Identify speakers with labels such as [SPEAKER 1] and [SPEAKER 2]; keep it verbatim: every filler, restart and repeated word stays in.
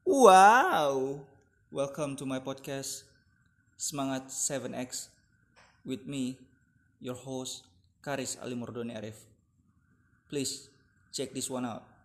[SPEAKER 1] Wow, welcome to my podcast Semangat seven X with me, your host Karis Ali Mordoni Arif. Please check this one out.